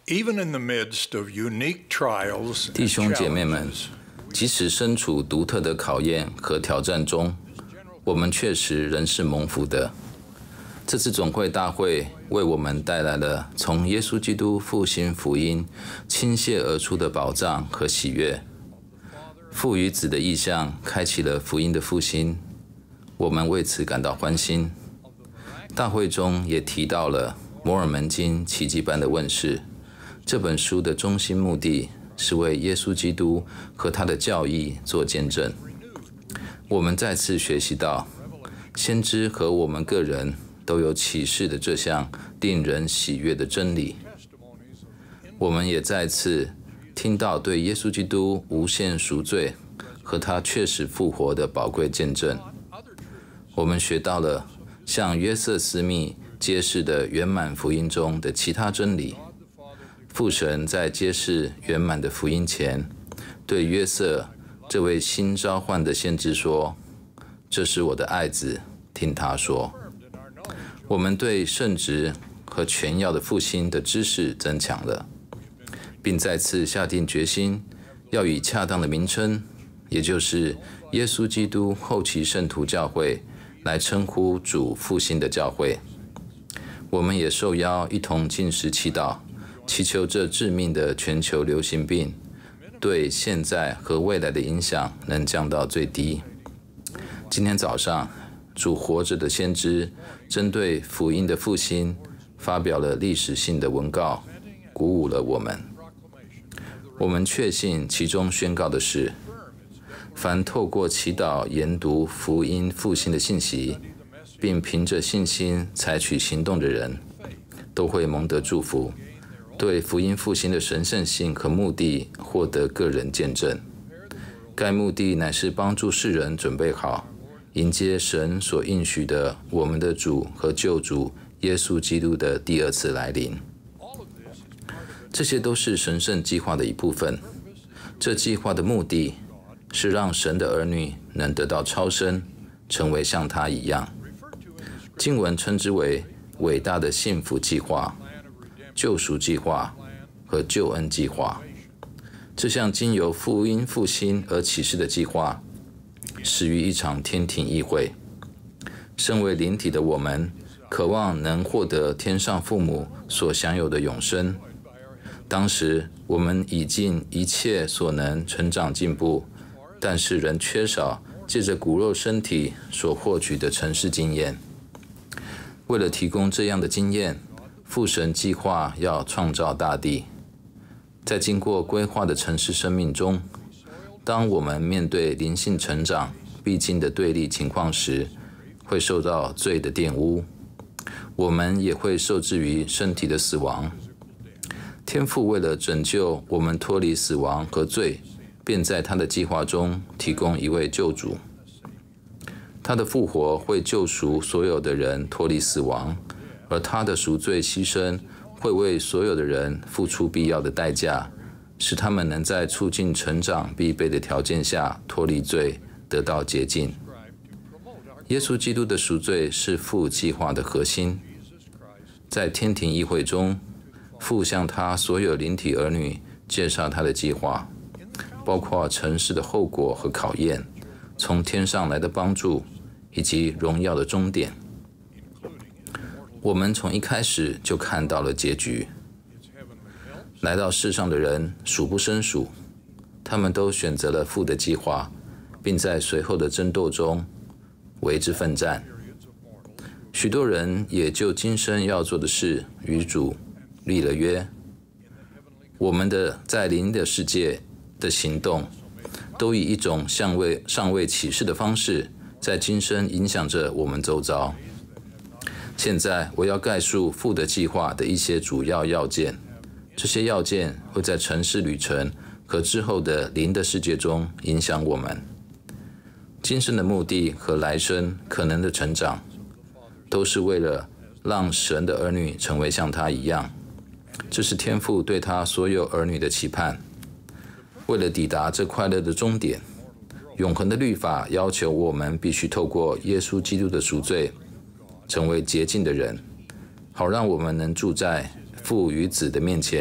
弟兄姐妹們，即使身處獨特的考驗和挑戰中，我們確實仍是蒙福的。這次總會大會為我們帶來了從耶穌基督復興福音傾瀉而出的寶藏和喜悅。父與子的意象開啟了福音的復興，我們為此感到歡欣。大會中也提到了摩爾門經奇蹟般的問世。這本書的中心目的是為耶穌基督和他的教義做見證。我們再次學習到，先知和我們個人都有啟示的這項令人喜悅的真理。我們也再次聽到對耶穌基督無限贖罪和他確實復活的寶貴見證。我們學到了向約瑟斯密揭示的圓滿福音中的其他真理。父神在揭示圓滿的福音前，對約瑟這位新召喚的先知說：“這是我的愛子，聽他說。”我們對聖職和權要的復興的知識增強了，並再次下定決心，要以恰當的名稱，也就是耶穌基督後期聖徒教會，來稱呼主復興的教會。我們也受邀一同禁食祈禱，祈求這致命的全球流行病對現在和未來的影響能降到最低。今天早上，主活着的先知針對福音的復興發表了歷史性的文告，鼓舞了我們。我們確信其中宣告的是，凡透過祈禱研讀福音復興的信息，並憑着信心採取行動的人，都會蒙得祝福，對福音復興的神聖性和目的獲得個人見證。該目的乃是幫助世人準備好，迎接神所應許的我們的主和救主耶穌基督的第二次來臨。這些都是神聖計劃的一部分。這計劃的目的是讓神的兒女能得到超生，成為像他一樣。經文稱之為偉大的幸福計劃、救贖計劃和救恩計劃。這項經由福音復興而啟示的計劃，始於一場天庭議會。身為靈體的我們，渴望能獲得天上父母所享有的永生。當時我們已盡一切所能成長進步，但是仍缺少借着骨肉身體所獲取的塵世經驗。為了提供這樣的經驗，父神計劃要創造大地。在經過規劃的塵世生命中，當我們面對靈性成長必經的對立情況時，會受到罪的玷污，我們也會受制於身體的死亡。天父為了拯救我們脫離死亡和罪，便在他的計劃中提供一位救主。他的復活會救贖所有的人脫離死亡，而他的贖罪犧牲會為所有的人付出必要的代價，使他們能在促進成長必備的條件下脫離罪，得到潔淨。耶穌基督的贖罪是父計劃的核心。在天庭議會中，父向他所有靈體兒女介紹他的計劃，包括塵世的後果和考驗，從天上來的幫助，以及榮耀的終點。我們從一開始就看到了結局。來到世上的人數不勝數，他們都選擇了父的計劃，並在隨後的爭鬥中為之奮戰。許多人也就今生要做的事與主立了約。我們的在靈的世界的行動，都以一種尚未啟示的方式，在今生影響着我們周遭。現在我要概述父的計劃的一些主要要件，這些要件會在塵世旅程和之後的靈的世界中影響我們。今生的目的和來生可能的成長，都是為了讓神的兒女成為像他一樣。這是天父對他所有兒女的期盼。為了抵達這快樂的終點，永恆的律法要求我們必須透過耶穌基督的贖罪，成為潔淨的人，好讓我們能住在父與子的面前，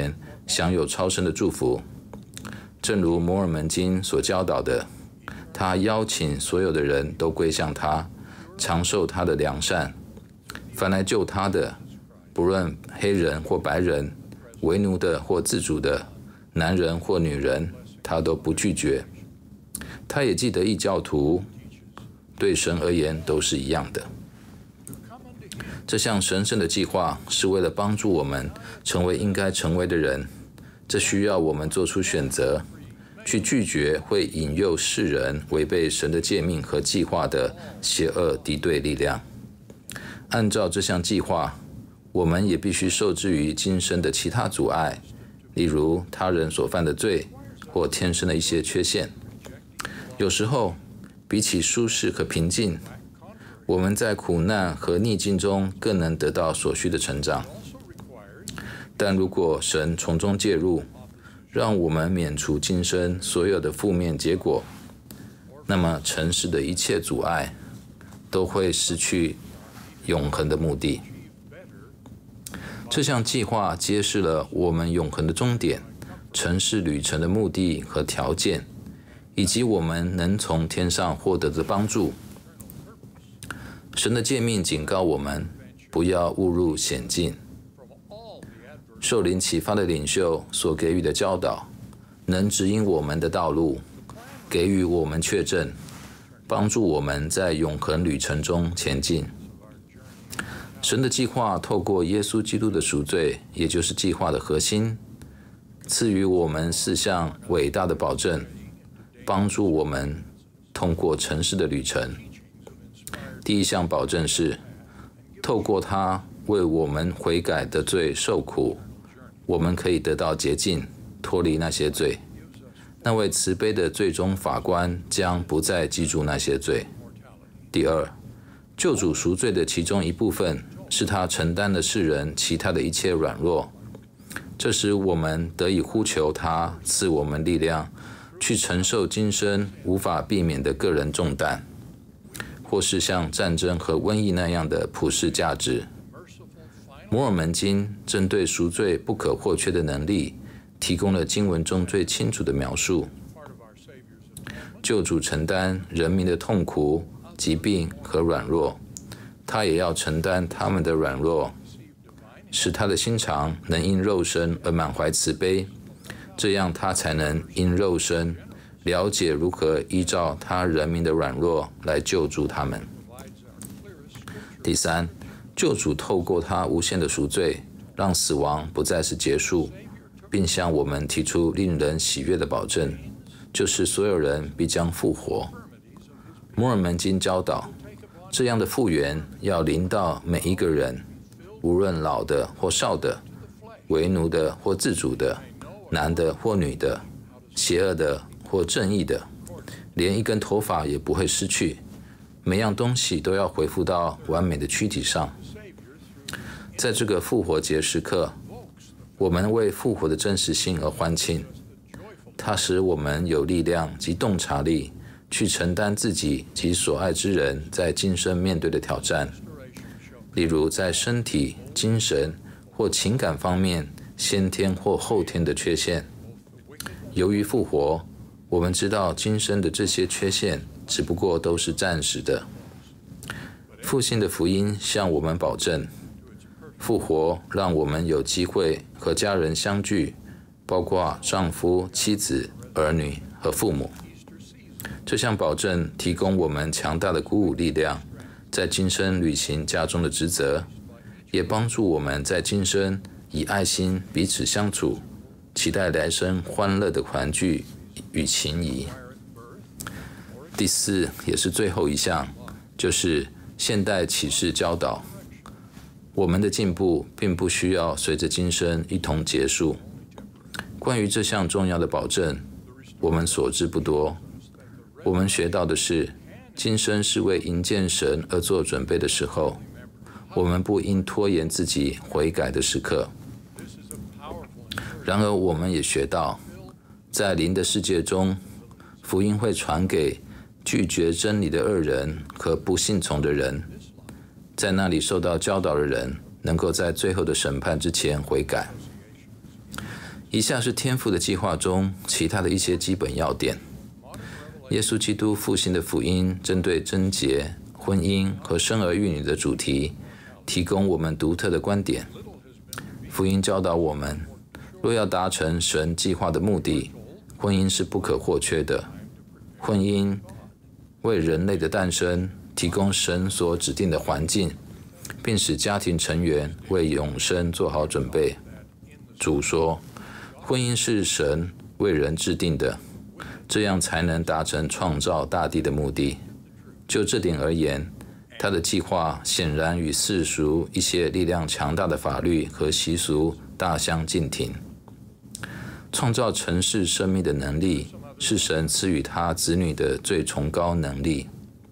享有超生的祝福。正如摩爾門經所教導的，他邀請所有的人都歸向他，嘗受他的良善。凡來救他的，不論黑人或白人，為奴的或自主的，男人或女人，他都不拒絕。他也記得異教徒對神而言都是一樣的。這項神聖的計劃是為了幫助我們成為應該成為的人，這需要我們做出選擇，去拒絕會引誘世人違背神的誡命和計劃的邪惡敵對力量。按照這項計劃，我們也必須受制於今生的其他阻礙，例如他人所犯的罪或天生的一些缺陷。有時候，比起舒適和平靜，我們在苦難和逆境中更能得到所需的成長。但如果神從中介入，讓我們免除今生所有的負面結果，那麼塵世的一切阻礙都會失去永恆的目的。這項計劃揭示了我們永恆的終點、塵世旅程的目的和條件，以及我們能從天上獲得的幫助。神的誡命警告我們，不要誤入險境。受靈啟發的領袖所給予的教導，能指引我們的道路，給予我們確證，幫助我們在永恆旅程中前進。神的計劃透過耶穌基督的贖罪，也就是計劃的核心，賜予我們4項偉大的保證，幫助我們通過塵世的旅程。第一項保證是，透過他為我們悔改的罪受苦，我們可以得到潔淨，脫離那些罪。那位慈悲的最終法官將不再記住那些罪。第二，救主贖罪的其中一部分是他承擔了世人其他的一切軟弱，這使我們得以呼求他賜我們力量，去承受今生無法避免的個人重擔，或是像戰爭和瘟疫那樣的普世價值。摩爾門經針對贖罪不可或缺的能力，提供了經文中最清楚的描述。救主承擔人民的痛苦、疾病和軟弱，他也要承擔他們的軟弱，使他的心腸能因肉身而滿懷慈悲，這樣他才能因肉身了解如何依照他人民的軟弱來救助他們。第三，救主透過他無限的贖罪，讓死亡不再是結束，並向我們提出令人喜悅的保證，就是所有人必將復活。摩爾門經教導，這樣的復原要臨到每一個人，無論老的或少的，為奴的或自主的，男的或女的，邪惡的或正義的，連一根頭髮也不會失去，每樣東西都要恢復到完美的軀體上。在這個復活節時刻，我們為復活的真實性而歡慶，它使我們有力量及洞察力去承擔自己及所愛之人在今生面對的挑戰，例如在身體、精神或情感方面先天或後天的缺陷。由於復活，我們知道今生的這些缺陷只不過都是暫時的。復興的福音向我們保證，復活讓我們有機會和家人相聚，包括丈夫、妻子、兒女和父母。這項保證提供我們強大的鼓舞力量，在今生履行家中的職責，也幫助我們在今生以愛心彼此相處，期待來生歡樂的團聚與情誼。第四，也是最後一項，就是現代啟示教導。我們的進步並不需要隨着今生一同結束。關於這項重要的保證，我們所知不多。我們學到的是，今生是為迎見神而做準備的時候，我們不應拖延自己悔改的時刻。然而，我們也學到，在靈的世界中，福音會傳給拒絕真理的惡人和不信從的人。在那裡受到教導的人，能夠在最後的審判之前悔改。 以下是天父的計劃中其他的一些基本要點。耶穌基督復興的福音針對貞潔、婚姻和生兒育女的主題，提供我們獨特的觀點。福音教導我們，若要達成神計劃的目的，婚姻是不可或缺的。婚姻為人類的誕生提供神所指定的環境，並使家庭成員為永生做好準備。主說，婚姻是神為人制定的，這樣才能達成創造大地的目的。就這點而言，他的計劃顯然與世俗一些力量強大的法律和習俗大相徑庭。創造承世生命的能力是神賜予他子女的最崇高能力。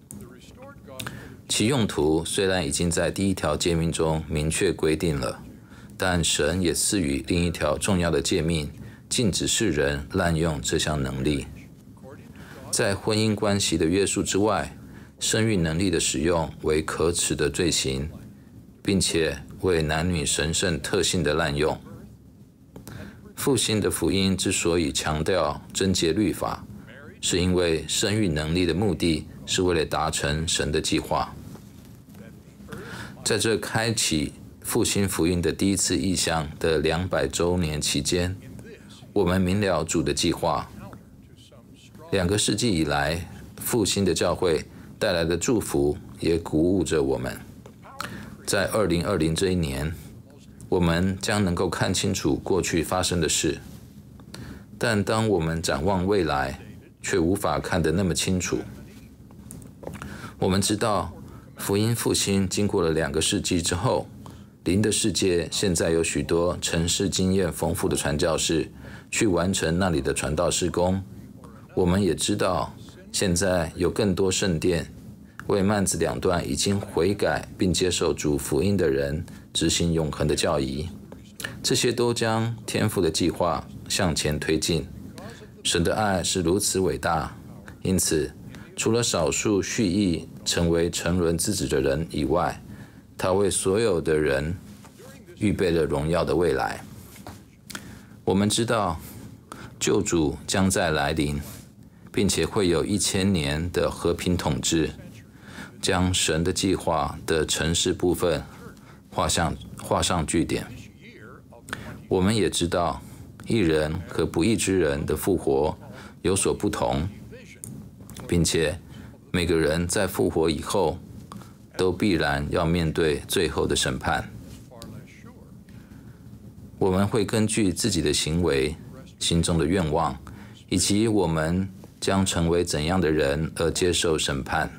其用途雖然已經在第一條誡命中明確規定了，但神也賜予另一條重要的誡命，禁止世人濫用這項能力。在婚姻關係的約束之外，生育能力的使用為可恥的罪行，並且為男女神聖特性的濫用。復興的福音之所以強調貞潔律法，是因為生育能力的目的是為了達成神的計劃。在這開啟復興福音的第一次異象的200週年期間，我們明了主的計劃。2個世紀以來，復興的教會帶來的祝福也鼓舞着我們。在2020這一年，我們將能夠看清楚過去發生的事，但當我們展望未來，卻無法看得那麼清楚。我們知道，福音復興經過了2個世紀之後，靈的世界現在有許多承世經驗豐富的傳教士去完成那裡的傳道事工。我們也知道，現在有更多聖殿為幔子兩端已經悔改並接受主福音的人執行永恆的教義。這些都將天父的計劃向前推進。神的愛是如此偉大，因此除了少數蓄意成為沉淪之子的人以外，他為所有的人預備了榮耀的未來。我們知道救主將在來臨，並且會有1000年的和平統治，將神的計劃的程式部分畫上句點。我們也知道，義人和不義之人的復活有所不同，並且每個人在復活以後都必然要面對最後的審判。我們會根據自己的行為、心中的願望，以及我們將成為怎樣的人而接受審判。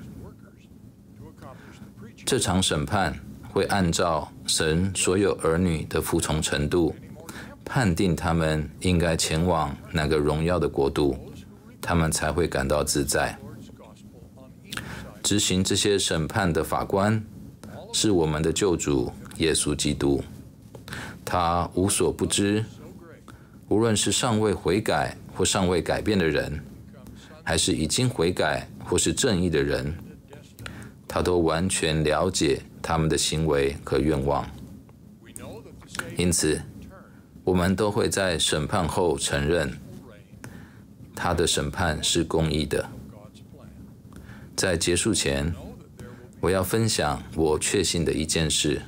這場審判會按照神所有兒女的服從程度，判定他們應該前往哪個榮耀的國度，他們才會感到自在。執行這些審判的法官是我們的救主耶穌基督，他無所不知，無論是尚未悔改或尚未改變的人，還是已經悔改或是正義的人，他都完全了解他們的行為和願望。因此，我們都會在審判後承認，他的審判是公義的。在結束前，我要分享我確信的一件事，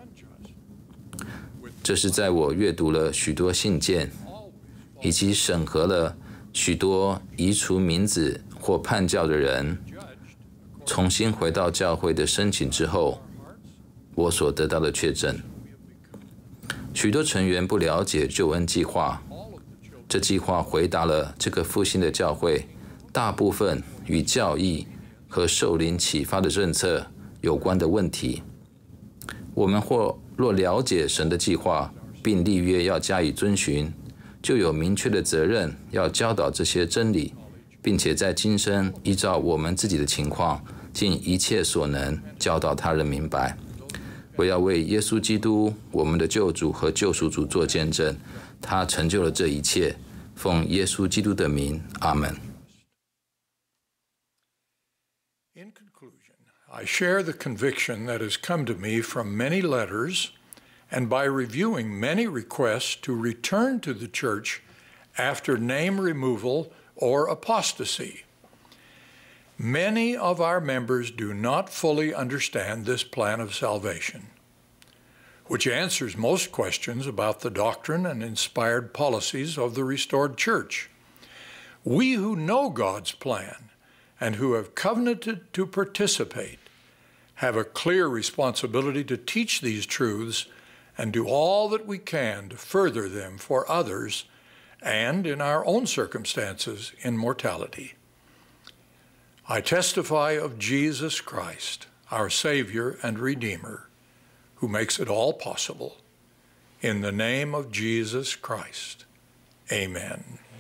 這是在我閱讀了許多信件，以及審核了許多移除名字或叛教的人重新回到教會的申請之後，我所得到的確證。許多成員不了解救恩計劃，這計劃回答了這個復興的教會大部分與教義和受靈啟發的政策有關的問題。我們若了解神的計劃，並立約要加以遵循，就有明確的責任要教導這些真理，並且在今生依照我們自己的情況，盡一切所能教導他人明白。我要為耶穌基督，我們的救主和救贖主做見證，他成就了這一切。奉耶穌基督的名，阿門。 In conclusion, I share the conviction that has come to me from many letters and by reviewing many requests to return to the church after name removal or apostasy. Many of our members do not fully understand this plan of salvation, which answers most questions about the doctrine and inspired policies of the restored church. We who know God's plan and who have covenanted to participate have a clear responsibility to teach these truths and do all that we can to further them for others and, in our own circumstances, in mortality. I testify of Jesus Christ, our Savior and Redeemer, who makes it all possible. In the name of Jesus Christ, amen.